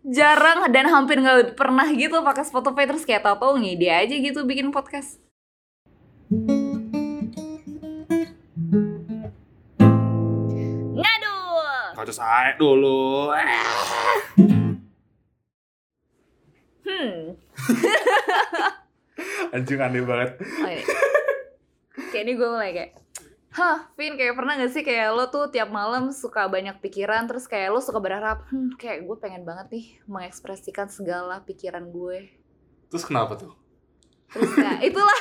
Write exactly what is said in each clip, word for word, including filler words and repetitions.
jarang dan hampir nggak pernah gitu pakai Spotify, terus kayak tau-tau ngide aja gitu bikin podcast. Ngadul. Kau saya dulu. Hmm. Anjing aneh banget. Oh, iya. Kayak ini gue mulai kayak, hah, Vin, kayak pernah gak sih kayak lo tuh tiap malam suka banyak pikiran, terus kayak lo suka berharap, hmm, kayak gue pengen banget nih mengekspresikan segala pikiran gue. Terus kenapa tuh? Terus ya, itulah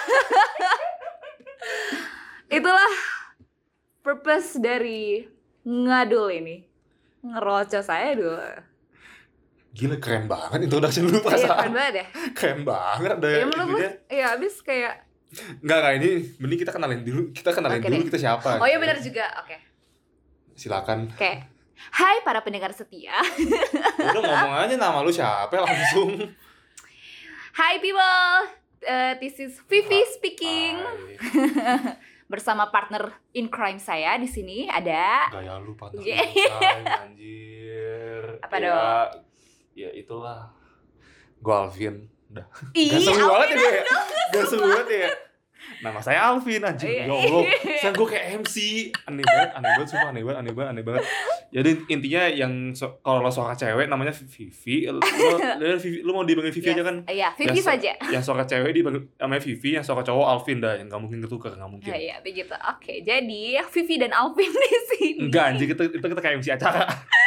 itulah purpose dari ngadul ini. Ngerocos saya dulu. Gila keren banget introduction lu pas. Iya, keren banget ya. Keren banget deh. Ya menurut lu, iya abis kayak Enggak, enggak, ini mending kita kenalin dulu. Kita kenalin Oke dulu deh. kita siapa. Oh iya benar juga, oke. Silakan. Oke. Hai para pendengar setia. Udah ngomong aja nama lu siapa langsung. Hi people, uh, this is Vivi speaking. Hai. Bersama partner in crime saya di sini ada. Gaya lu patah Yeah. yeah. Anjir. Apa ya, dong? Ya itulah. Gue Alvin. Udah. Ih, Gak seru banget ya Alvin gue ya. Gak seru banget ya. Nama saya Alvin anjing. Iya. Ya Allah. Sekarang gue kayak M C. Aneh banget, aneh banget, sumpah aneh banget, aneh banget, aneh banget. Jadi intinya yang so, kalau lo suka cewek namanya Vivi. Lo, lo, Vivi, lo mau dipanggil Vivi Yes. aja kan? Iya, Vivi Yang- saja. Yang suka cewek dipanggil namanya Vivi, yang suka cowok Alvin dah. Yang gak mungkin ketukar, gak mungkin. Ya, iya, begitu. Oke, jadi Vivi dan Alvin di sini. Enggak anjing, itu, itu kita kayak M C acara.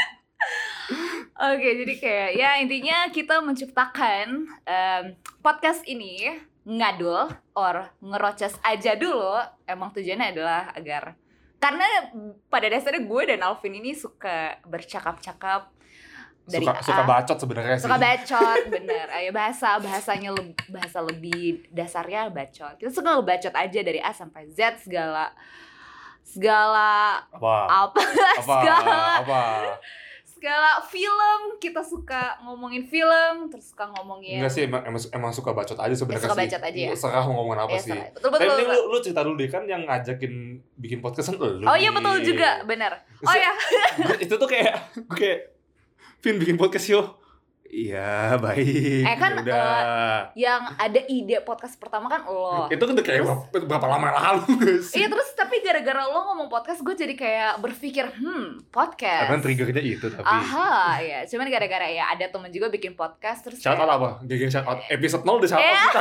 Oke, jadi kayak ya intinya kita menciptakan em, podcast ini ngadul or ngerocos aja dulu. Emang tujuannya adalah agar karena pada dasarnya gue dan Alvin ini suka bercakap-cakap dari Suka, A, suka bacot sebenarnya sih. suka bacot, bener. Ayo bahasa bahasanya lebih, bahasa lebih dasarnya bacot. Kita suka ngebacot aja dari A sampai Z segala segala Apa? apa, Apa? segala Apa? segala film, kita suka ngomongin film, terus suka ngomongin Enggak sih, emang, emang, emang suka bacot aja sebenarnya Ya, suka sih. bacot aja ya? Serah mau ngomongin apa Ya, sih. serah. Betul, betul, Tapi betul. lu, lu cerita dulu deh, kan yang ngajakin bikin podcast kan lu. Oh iya nih. betul juga, benar. Oh Se- ya, Itu tuh kayak, gue kayak, Vin bikin podcast yuk. Iya, baik. Eh, kan, Udah. yang ada ide podcast pertama kan lo. Itu kan udah kayak Terus- berapa, berapa lama lalu gak sih? Iya terus tapi gara-gara lo ngomong podcast, gue jadi kayak berpikir, hmm podcast. Emang triggernya itu tapi. Aha, ya. Cuman gara-gara ya ada temen juga bikin podcast terus. Shout out kayak- apa? G G shout out. Episode nol udah shout out Eh. kita.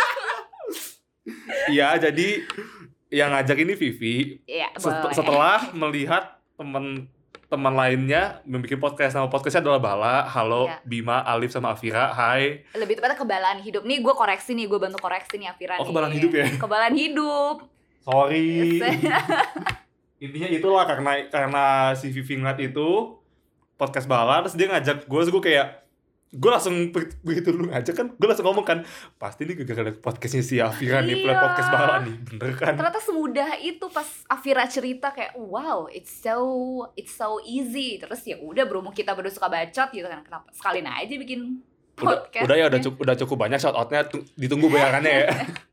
Iya, jadi yang ngajak ini Vivi. Iya, Set- boleh. setelah melihat teman teman lainnya membuat podcast, nama podcastnya adalah Bala, Halo, Iya. Bima, Alif sama Afira. Hai. Lebih tepatnya kebalaan hidup. Nih gue koreksi nih, gue bantu koreksi nih Afira Oh, nih. kebalaan hidup ya? Kebalaan hidup. Sorry. Yes. Intinya itulah karena karena si Vivi ngeliat itu podcast Bala, terus dia ngajak gue, terus gue kayak gue langsung be- begitu lu ngajak kan, gue langsung ngomong kan, pasti nih gara-gara podcastnya si Afira nih, Iya. podcast Bala nih, bener kan? Ternyata semudah itu pas Afira cerita kayak wow, it's so it's so easy. Terus ya udah berhubung kita berdua suka bacot gitu kan, kenapa sekalian aja bikin Udah, podcast. udah ya udah cukup udah cukup banyak shout outnya, ditunggu bayarannya ya.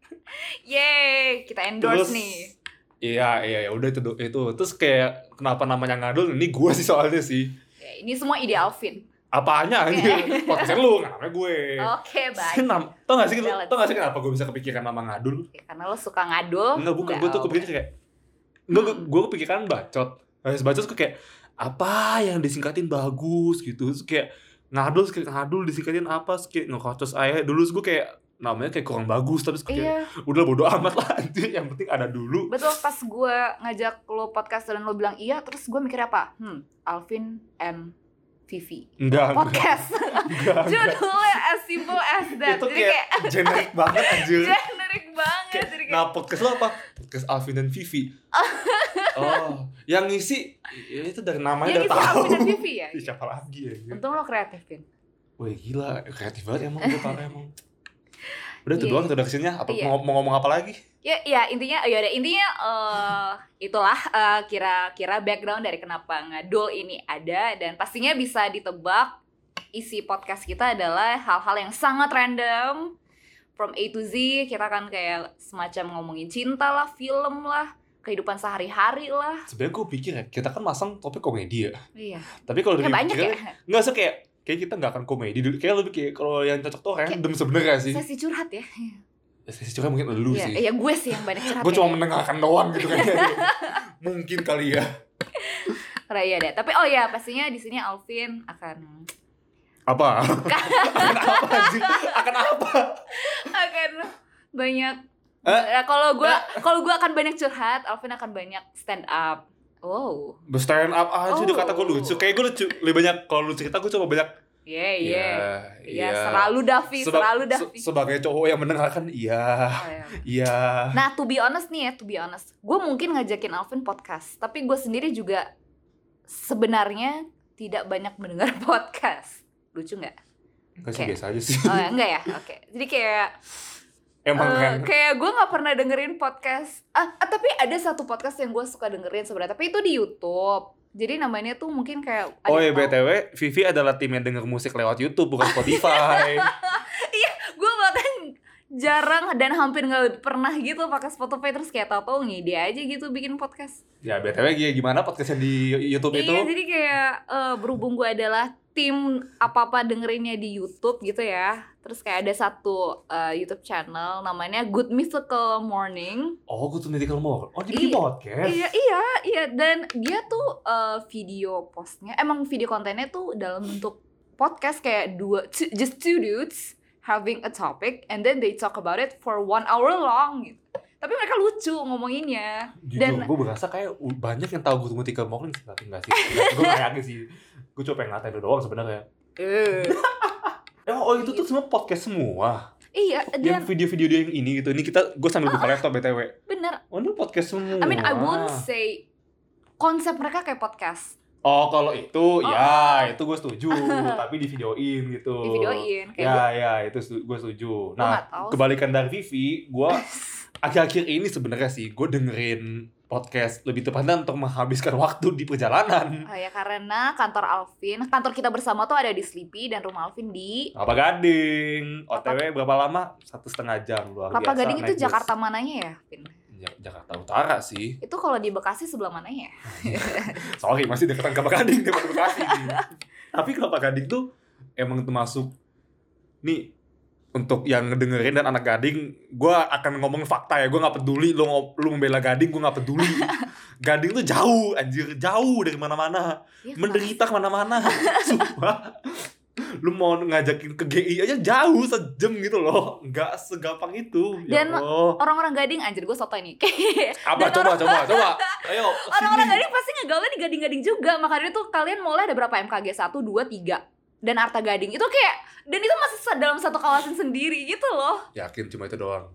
Yeay, kita endorse Terus, nih. Iya, iya, ya udah itu itu. Terus kayak kenapa namanya ngadul? Ini gue sih soalnya sih. Ya, ini semua ide Alvin. Apanya anjir? Podcastnya lu, nggak namanya gue. Oke, baik. Nam- Tau gak sih, Balance. tau gak sih kenapa gue bisa kepikiran nama ngadul? Ya, karena lo suka ngadul. Enggak, bukan, Nggak, gue tuh oh, kepikiran kayak Enggak, gue, gue kepikiran bacot. Habis bacot gue kayak apa yang disingkatin bagus gitu. Terus kayak ngadul, kayak ngadul disingkatin apa, terus kayak ngekocos aja. Dulu terus gue kayak namanya kayak kurang bagus, terus kayak Iya, udah bodo amat lah anjir, yang penting ada dulu. betul. Pas gue ngajak lo podcast dan lo bilang iya, terus gue mikir apa? Hmm, Alvin and Vivi Enggak, enggak, podcast. enggak, enggak. Judulnya as simple as that. Itu Jadi kayak kayak generik banget anjir. generik banget. Kayak, Jadi kayak nah podcast lo apa? Podcast Alvin dan Vivi. Oh, yang ngisi ya itu dari namanya yang udah itu tahu. Alvin dan Vivi ya. Ih, siapa lagi ya? Untung lo kreatif, Vin. Wih gila, kreatif banget emang dia parah emang. Udah itu Iya. doang introduction-nya. Apa Iya. mau, mau ngomong apa lagi? Ya, ya intinya, ya udah intinya eh, itulah eh, kira-kira background dari kenapa ngadul ini ada, dan pastinya bisa ditebak isi podcast kita adalah hal-hal yang sangat random from A to Z. Kita kan kayak semacam ngomongin cinta lah, film lah, kehidupan sehari-hari lah. Sebenarnya gue pikir ya, kita kan masang topik komedi ya. Iya. Tapi kalau Ya dari banyak ya. nggak sih kayak kayak kita nggak akan komedi dulu. Kayak lebih kayak kalau yang cocok tuh random sebenarnya sih. Sesi curhat ya. Sesi curhat mungkin lu Iya, sih. iya gue sih yang banyak curhat. Gue ya. cuma mendengarkan doang gitu kayaknya. Mungkin kali ya. Raya deh. Tapi oh ya pastinya di sini Alvin akan Apa? Akan apa sih? Akan apa? akan banyak. Eh? Nah, kalau gue kalau gue akan banyak curhat, Alvin akan banyak stand up. Oh. Stand up aja Oh. udah kata gue lucu. Kayak gue lucu. Lebih banyak kalau lu cerita gue coba banyak. Iya, iya. Iya. Iya, selalu Davi, Seba- selalu se- Davi. sebagai cowok yang mendengarkan, iya. Oh, iya. Iya. Nah, to be honest nih ya, to be honest. Gue mungkin ngajakin Alvin podcast, tapi gue sendiri juga sebenarnya tidak banyak mendengar podcast. Lucu nggak? Enggak sih, Kayak- biasa aja sih. Oh ya, enggak ya? Oke. Jadi kayak Emang eh, kan. kayak gue nggak pernah dengerin podcast. Ah, ah, tapi ada satu podcast yang gue suka dengerin sebenarnya, tapi itu di YouTube. Jadi namanya tuh mungkin kayak ada Oh ya yang tahu. B T W, Vivi adalah tim yang denger musik lewat YouTube bukan Spotify. Gue bahkan jarang dan hampir nggak pernah gitu pakai Spotify, terus kayak tau-tau ngide aja gitu bikin podcast. Ya B T W gimana podcast yang di YouTube itu? Iya, jadi kayak eh, berhubung gue adalah tim apa-apa dengerinnya di YouTube gitu ya. Terus kayak ada satu eh, YouTube channel namanya Good Mythical Morning. Oh, gue tuh medical more. Oh, jadi bikin Iya. podcast. Iya, iya, iya. Dan dia tuh eh, video postnya, emang video kontennya tuh dalam bentuk podcast kayak dua, two- just two dudes having a topic and then they talk about it for one hour long gitu. Tapi mereka lucu ngomonginnya. Jujur, Dan gue berasa kayak u- banyak yang tahu gue medical morning sih, tapi enggak sih. Gue gak yakin sih. Gue cuma pengen ngatain lu doang sebenarnya. eh, Eh, oh itu tuh semua podcast semua. iya, dan Yang video-video dia yang ini gitu. Ini kita gue sambil buka laptop B T W. bener. Oh, ini podcast semua. I mean, I wouldn't say konsep mereka kayak podcast. Oh, kalau itu ya, itu gue setuju, tapi di videoin gitu. Di videoin kayak Ya, gua, ya, itu gue setuju. gua Nah, nggak tahu. kebalikan dari Vivi, gue akhir-akhir ini sebenarnya sih gue dengerin podcast lebih tepatnya untuk menghabiskan waktu di perjalanan. Oh ya, karena kantor Alvin, kantor kita bersama tuh ada di Sleepy dan rumah Alvin di Kelapa Gading, O T W berapa lama? Satu setengah jam luar Kelapa biasa. Gading itu naik bus. Jakarta mananya ya, Vin? Ja- Jakarta Utara sih. Itu kalau di Bekasi sebelah mananya ya? Sorry, masih deketan Kelapa Gading daripada Bekasi. Tapi Kelapa Gading tuh emang termasuk nih untuk yang ngedengerin dan anak Gading, gue akan ngomong fakta ya, gue nggak peduli lu ngo- lu membela Gading, gue nggak peduli. Gading tuh jauh, anjir, jauh dari mana-mana, Iya, menderita kemana-mana, sumpah. Lu mau ngajakin ke G I aja jauh sejam gitu loh, nggak segampang itu. Dan ya Allah. orang-orang Gading, anjir gue soto ini. Apa dan coba orang- coba coba, ayo. Orang-orang sini. Gading pasti ngegaulnya di Gading-Gading juga. Makanya tuh kalian mulai ada berapa M K G? satu, dua, tiga dan Arta Gading. Itu kayak, dan itu masih sa- dalam satu kawasan sendiri gitu loh. Yakin cuma itu doang.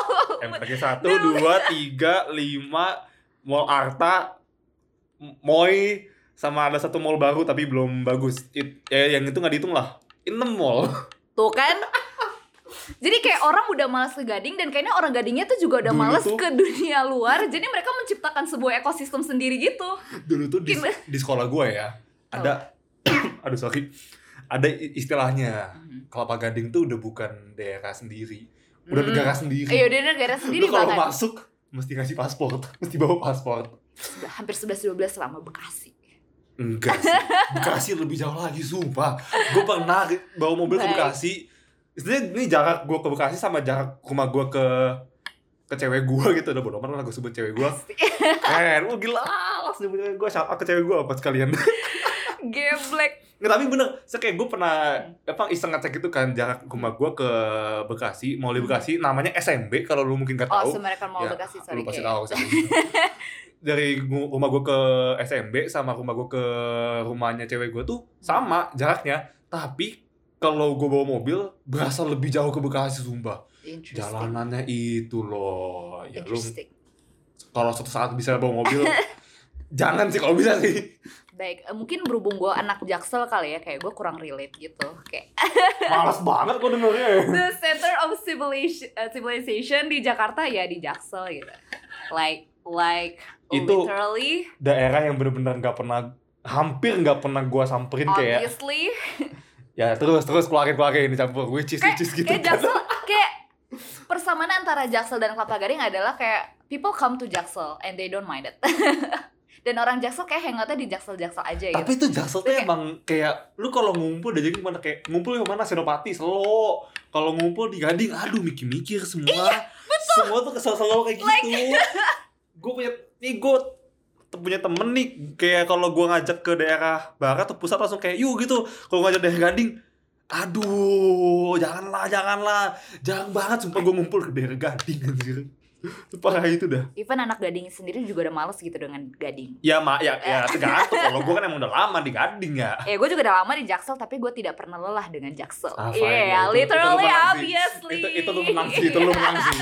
M K G satu, dua, tiga, lima, Mall Arta, M- Moy, sama ada satu mall baru tapi belum bagus. It, eh, yang itu nggak dihitung lah. enam mall. Tuh kan. Jadi kayak orang udah malas ke Gading, dan kayaknya orang Gadingnya tuh juga udah Dulu malas tuh- ke dunia luar. Jadi mereka menciptakan sebuah ekosistem sendiri gitu. Dulu tuh di, Gimana? di sekolah gue ya, ada, aduh sorry, ada i- istilahnya. Kelapa Gading tuh udah bukan daerah sendiri, udah Hmm. negara sendiri. Iya, udah negara sendiri Lu kalau bahkan. masuk mesti ngasih paspor, mesti bawa paspor. Sebelah- hampir sebelas dua belas selama Bekasi. Enggak sih, Bekasi lebih jauh lagi, sumpah. Gue pernah bawa mobil ke Baik. Bekasi. Istilahnya ini jarak gue ke Bekasi sama jarak rumah gue ke ke cewek gue gitu. Udah bodo amat lah gue sebut cewek gue. Keren, oh gila, langsung sebut cewek gue. Shout out ke cewek gue apa sekalian. Geblek. Nggak, tapi bener, saya kayak gue pernah apa iseng ngecek itu kan jarak rumah gue ke Bekasi, mau di Bekasi, namanya S M B kalau lu mungkin gak Oh, tahu. Semarang Mall Ya, Bekasi, sorry. lu pasti kayak. tahu sih. Dari gu- rumah gue ke S M B sama rumah gue ke rumahnya cewek gue tuh sama jaraknya, tapi kalau gue bawa mobil berasa lebih jauh ke Bekasi, sumpah. Interesting. Jalanannya itu loh, ya lu Interesting. kalau suatu saat bisa bawa mobil jangan sih kalau bisa sih. Baik, eh, mungkin berhubung gue anak Jaksel kali ya, kayak gue kurang relate gitu. Kayak Males banget gue dengernya. the center of civilization, uh, civilization di Jakarta ya di Jaksel gitu. Like, like Itu- literally, Daerah yang bener-bener nggak pernah, hampir nggak pernah gue samperin kayak. obviously. Ya terus terus keluarin keluarin dicampur which is Kayak, which is gitu. kayak Jaksel, kayak persamaan antara Jaksel dan Kelapa Gading adalah kayak people come to Jaksel and they don't mind it. Dan orang Jaksel kayak hangoutnya di Jaksel-Jaksel aja gitu. Tapi itu Jaksel tuh Kayak- emang kayak lu kalau ngumpul udah jadi kemana, kayak ngumpul di mana, Senopati, Selo. Kalau ngumpul di Gading, aduh mikir-mikir semua. Iya, Semua tuh kesel-selo kayak gitu. Gue punya nih gue punya temen nih, kayak kalau gue ngajak ke daerah barat atau pusat langsung kayak yuk gitu. Kalau ngajak daerah Gading, aduh janganlah janganlah jangan banget, sumpah gue ngumpul ke daerah Gading anjir. Parah itu dah. Even anak Gading sendiri juga udah males gitu dengan Gading. Ya mak ya ya tergantung. Kalau gue kan emang udah lama di Gading ya. Eh, gue juga udah lama di Jaksel, tapi gue tidak pernah lelah dengan Jaksel. Ah, Iya, fine, ya, yeah, itu- literally, itu lu menang sih. obviously. Itu itu lu menang sih, itu lu menang sih.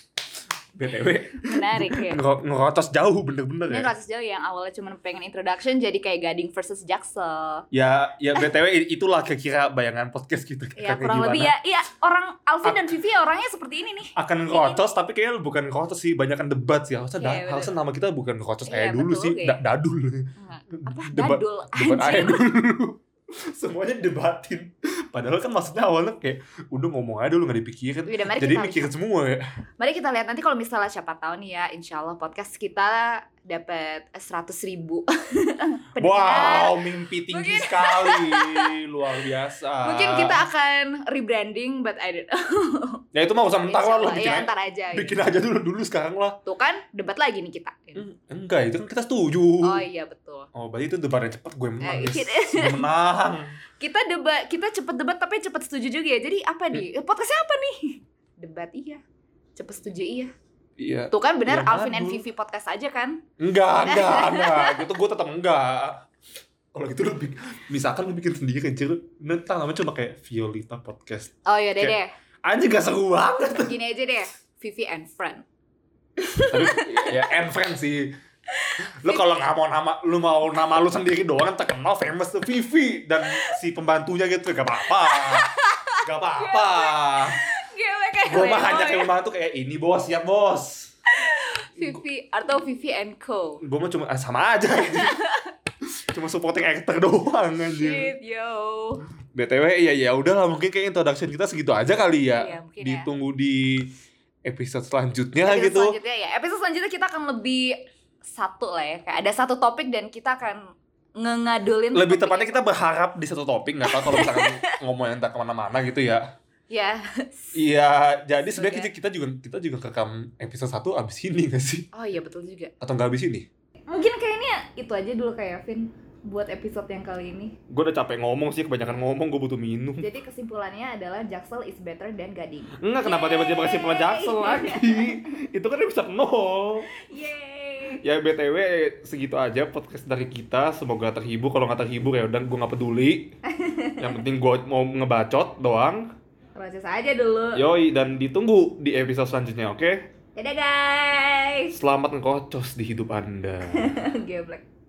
B T W Menarik ya. ngero- ngerotos jauh bener-bener Ini ya. kasus jauh yang awalnya cuma pengen introduction jadi kayak Gading versus Jaksel. Ya ya B T W itulah kira-kira bayangan podcast kita. Ya kayak kurang gimana. lebih ya. Iya, orang Alvin Ah. dan Vivi orangnya seperti ini nih. Akan ngerotos tapi kayaknya bukan ngerotos sih, banyakan debat sih. Harusnya Iya, da- betul. harusnya nama kita bukan ngerotos Iya, kayak dulu betul, sih, oke. da- dadul. Apa? Debat- Dadul. Debat aja Anjing. dulu. Semuanya debatin. Padahal kan maksudnya awalnya kayak udah ngomong aja dulu, gak dipikirin. Udah, mari Jadi kita mikirin semua ya. Mari kita lihat nanti kalau misalnya siapa tahu nih ya, insya Allah podcast kita dapat seratus ribu pendengar. Wow, mimpi tinggi Mungkin- sekali. Luar biasa. Mungkin kita akan rebranding, but I don't know. Ya itu mah usah mentar lah, lo Insya Allah, bikin, ya, aja- ntar aja. gitu. bikin aja dulu dulu sekarang lah. Tuh kan, debat lagi nih kita. Hmm, Enggak, itu kan kita setuju. Oh iya betul. Oh, berarti itu debat yang cepet, gue menang, Eh, guys. kita- Gue menang. Kita debat, kita cepet debat tapi cepet setuju juga ya. Jadi apa nih? Hmm. Podcastnya apa nih? Debat iya, cepet setuju iya. Iya. Tuh kan benar, Ya, Alvin and ngadu. Vivi podcast aja kan? Enggak, enggak, enggak. Gitu gue tetap enggak. Kalau gitu lu bikin, misalkan lu bikin sendiri kan, Cil. Nanti namanya cuma kayak Violita Podcast. Oh iya deh deh. Anjir gak seru banget. Gini aja deh, Vivi and Friend. Tapi ya and friend sih. Lu kalau nggak mau nama, lu mau nama lu sendiri doang terkenal famous tuh Vivi dan si pembantunya gitu, gak apa-apa. Gak apa-apa. Gila kayak Gue mah Leo hanya ya. kayak pembantu kayak ini bos, siap bos. Vivi atau Vivi and Co. Gue mah cuma ah, sama aja gitu. Cuma supporting actor doang anjir. Shit yo. B T W ya ya udahlah, mungkin kayak introduction kita segitu aja kali ya. Iya, mungkin ya. Ditunggu di episode selanjutnya Episode gitu. selanjutnya ya. Episode selanjutnya kita akan lebih satu lah ya. Kayak ada satu topik dan kita akan ngengadulin. Lebih topik tepatnya itu. kita berharap di satu topik, nggak tahu kalau misalkan ngomongin entah kemana-mana gitu ya. Ya. Iya, jadi Semoga. sebenarnya kita, kita juga kita juga rekam episode satu abis ini nggak sih? Oh iya betul juga. Atau nggak abis ini? Mungkin kayaknya itu aja dulu kayak Vin buat episode yang kali ini. Gue udah capek ngomong sih, kebanyakan ngomong, gue butuh minum. Jadi kesimpulannya adalah Jaksel is better than Gading. Enggak, kenapa Yeay. tiba-tiba kesimpulan Jaksel lagi? Itu kan episode nol. Yeay. Ya B T W segitu aja podcast dari kita. Semoga terhibur. Kalau nggak terhibur ya udah, gue nggak peduli. Yang penting gue mau ngebacot doang. Proses aja dulu. Yoi, dan ditunggu di episode selanjutnya, oke? Dadah guys. Selamat ngekocos di hidup Anda. Geblek.